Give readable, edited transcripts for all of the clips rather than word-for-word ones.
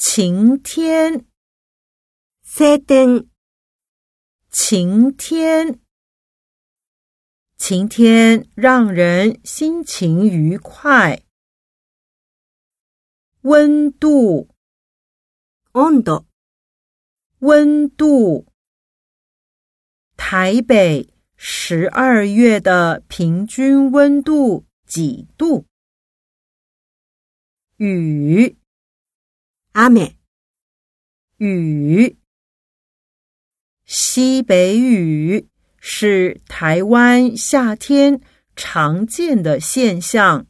晴天， 晴天， 晴天，晴天让人心情愉快。温度， 温度， 温度。台北12月的平均温度几度？雨， 雨， 雨。西北雨是台湾夏天常见的现象。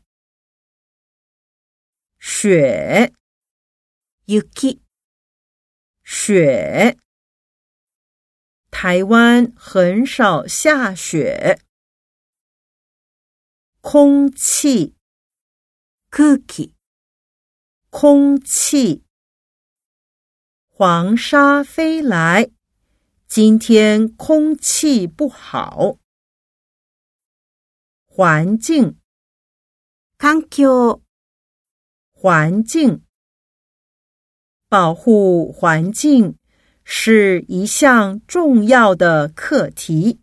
雪， 雪， 雪。台湾很少下雪。空气， 空気， 空气。黄沙飞来，今天空气不好。环境， 環境， 环境。保护环境是一项重要的课题。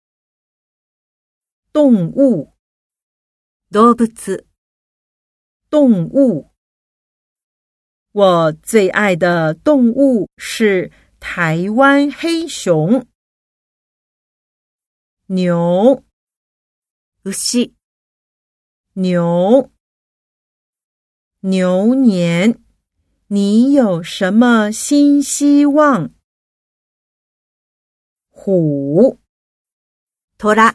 动物， 動物， 动物。我最爱的动物是台湾黑熊。牛， 牛， 牛。牛年，你有什么新希望？虎， 虎，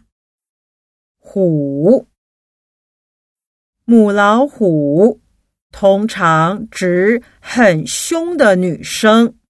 虎。母老虎通常指很凶的女生。